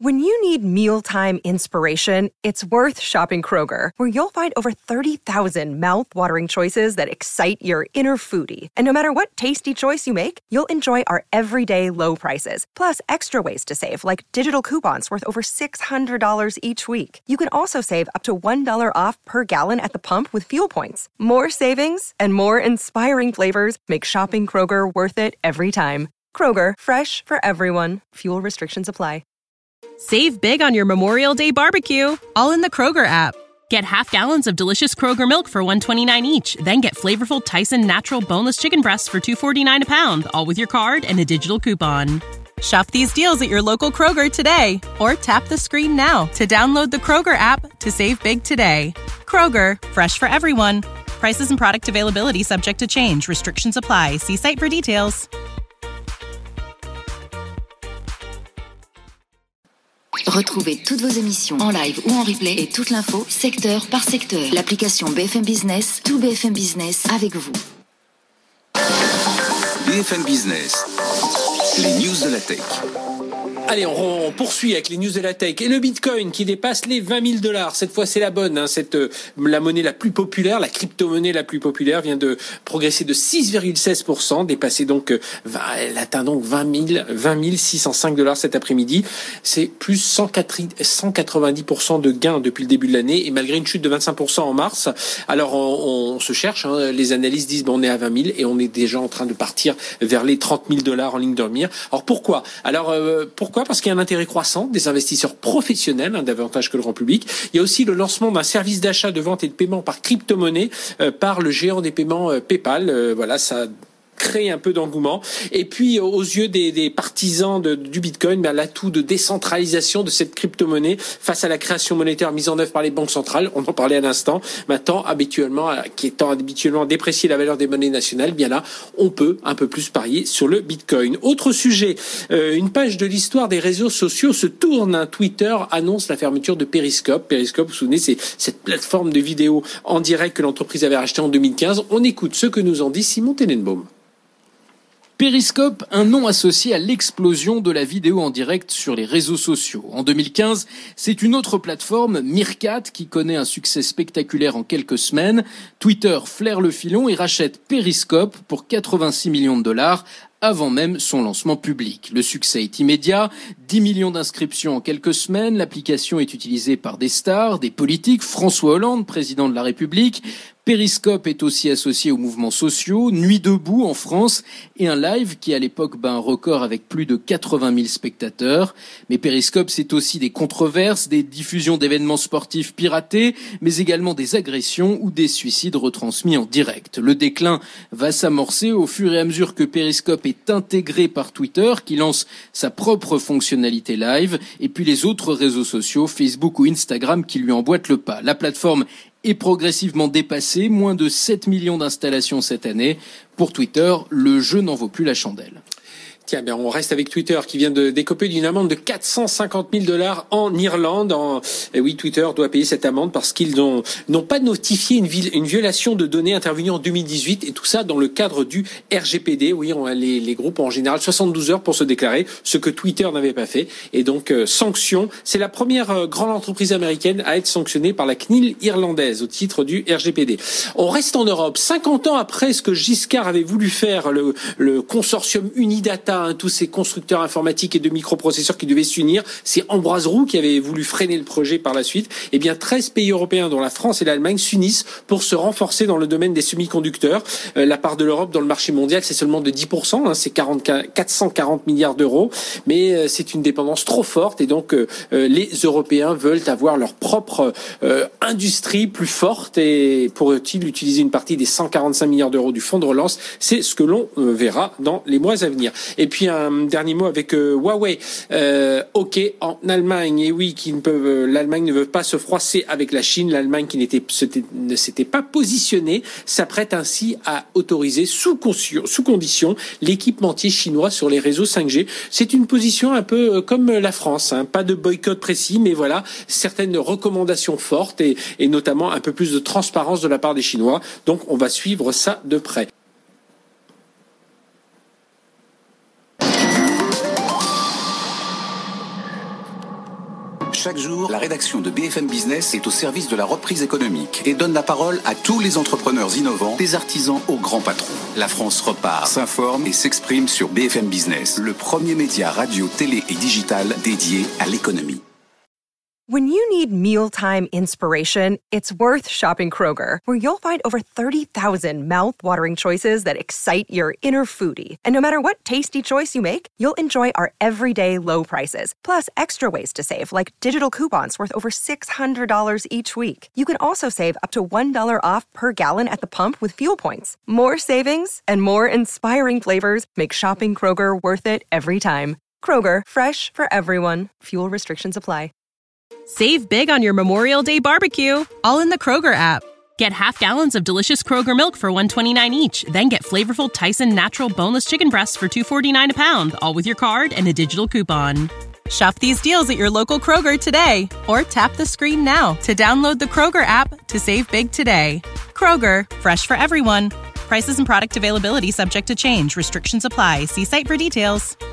When you need mealtime inspiration, it's worth shopping Kroger, where you'll find over 30,000 mouth-watering choices that excite your inner foodie. And no matter what tasty choice you make, you'll enjoy our everyday low prices, plus extra ways to save, like digital coupons worth over $600 each week. You can also save up to $1 off per gallon at the pump with fuel points. More savings and more inspiring flavors make shopping Kroger worth it every time. Kroger, fresh for everyone. Fuel restrictions apply. Save big on your Memorial Day barbecue, all in the Kroger app. Get half gallons of delicious Kroger milk for $1.29 each. Then get flavorful Tyson natural boneless chicken breasts for $2.49 a pound, all with your card and a digital coupon. Shop these deals at your local Kroger today, or tap the screen now to download the Kroger app to save big today. Kroger, fresh for everyone. Prices and product availability subject to change. Restrictions apply. See site for details. Retrouvez toutes vos émissions en live ou en replay et toute l'info secteur par secteur. L'application BFM Business, tout BFM Business avec vous. BFM Business, les news de la tech. Allez, on poursuit avec les news de la tech et le Bitcoin qui dépasse les $20,000. Cette fois, c'est la bonne. La monnaie la plus populaire, la crypto-monnaie la plus populaire vient de progresser de 6,16%, dépasser donc, elle atteint donc $20 605 cet après-midi. C'est plus 190% de gains depuis le début de l'année et malgré une chute de 25% en mars. Alors, on se cherche. Les analystes disent, on est à 20 000 et on est déjà en train de partir vers les $30 000 en ligne de mire. Alors, pourquoi? Pourquoi? Parce qu'il y a un intérêt croissant des investisseurs professionnels, davantage que le grand public. Il y a aussi le lancement d'un service d'achat, de vente et de paiement par crypto-monnaie par le géant des paiements PayPal. Voilà, ça créer un peu d'engouement. Et puis, aux yeux des partisans du Bitcoin, l'atout de décentralisation de cette crypto-monnaie face à la création monétaire mise en œuvre par les banques centrales, on en parlait à l'instant, maintenant, qui étant habituellement déprécié la valeur des monnaies nationales, bien là, on peut un peu plus parier sur le Bitcoin. Autre sujet, une page de l'histoire des réseaux sociaux se tourne. Twitter annonce la fermeture de Periscope. Periscope, vous vous souvenez, c'est cette plateforme de vidéo en direct que l'entreprise avait rachetée en 2015. On écoute ce que nous en dit Simon Tenenbaum. Periscope, un nom associé à l'explosion de la vidéo en direct sur les réseaux sociaux. En 2015, c'est une autre plateforme, Meerkat, qui connaît un succès spectaculaire en quelques semaines. Twitter flaire le filon et rachète Periscope pour $86 millions avant même son lancement public. Le succès est immédiat, 10 millions d'inscriptions en quelques semaines, l'application est utilisée par des stars, des politiques, François Hollande, président de la République. Periscope est aussi associé aux mouvements sociaux, Nuit debout en France et un live qui à l'époque bat un record avec plus de 80 000 spectateurs. Mais Periscope c'est aussi des controverses, des diffusions d'événements sportifs piratés, mais également des agressions ou des suicides retransmis en direct. Le déclin va s'amorcer au fur et à mesure que Periscope est intégré par Twitter qui lance sa propre fonctionnalité live et puis les autres réseaux sociaux, Facebook ou Instagram qui lui emboîtent le pas. La plateforme est progressivement dépassé, moins de 7 millions d'installations cette année. Pour Twitter, le jeu n'en vaut plus la chandelle. Tiens, on reste avec Twitter qui vient de décoper d'une amende de $450 000 en Irlande. Et oui, Twitter doit payer cette amende parce qu'ils n'ont pas notifié une violation de données intervenue en 2018 et tout ça dans le cadre du RGPD. Oui, les groupes ont en général 72 heures pour se déclarer, ce que Twitter n'avait pas fait. Et donc, sanction. C'est la première grande entreprise américaine à être sanctionnée par la CNIL irlandaise au titre du RGPD. On reste en Europe. 50 ans après ce que Giscard avait voulu faire, le consortium Unidata, tous ces constructeurs informatiques et de microprocesseurs qui devaient s'unir. C'est Ambroise Roux qui avait voulu freiner le projet par la suite. 13 pays européens, dont la France et l'Allemagne, s'unissent pour se renforcer dans le domaine des semi-conducteurs. La part de l'Europe dans le marché mondial, c'est seulement de 10%, c'est 440 milliards d'euros. Mais c'est une dépendance trop forte et donc les Européens veulent avoir leur propre industrie plus forte et pourraient-ils utiliser une partie des 145 milliards d'euros du fonds de relance? C'est ce que l'on verra dans les mois à venir. Et puis un dernier mot avec Huawei. OK en Allemagne. Et oui, l'Allemagne ne veut pas se froisser avec la Chine. L'Allemagne qui ne s'était pas positionnée s'apprête ainsi à autoriser sous condition l'équipementier chinois sur les réseaux 5G. C'est une position un peu comme la France. Pas de boycott précis, mais voilà, certaines recommandations fortes et notamment un peu plus de transparence de la part des Chinois. Donc on va suivre ça de près. Chaque jour, la rédaction de BFM Business est au service de la reprise économique et donne la parole à tous les entrepreneurs innovants, des artisans aux grands patrons. La France repart, s'informe et s'exprime sur BFM Business, le premier média radio, télé et digital dédié à l'économie. When you need mealtime inspiration, it's worth shopping Kroger, where you'll find over 30,000 mouth-watering choices that excite your inner foodie. And no matter what tasty choice you make, you'll enjoy our everyday low prices, plus extra ways to save, like digital coupons worth over $600 each week. You can also save up to $1 off per gallon at the pump with fuel points. More savings and more inspiring flavors make shopping Kroger worth it every time. Kroger, fresh for everyone. Fuel restrictions apply. Save big on your Memorial Day barbecue, all in the Kroger app. Get half gallons of delicious Kroger milk for $1.29 each. Then get flavorful Tyson natural boneless chicken breasts for $2.49 a pound, all with your card and a digital coupon. Shop these deals at your local Kroger today, or tap the screen now to download the Kroger app to save big today. Kroger, fresh for everyone. Prices and product availability subject to change. Restrictions apply. See site for details.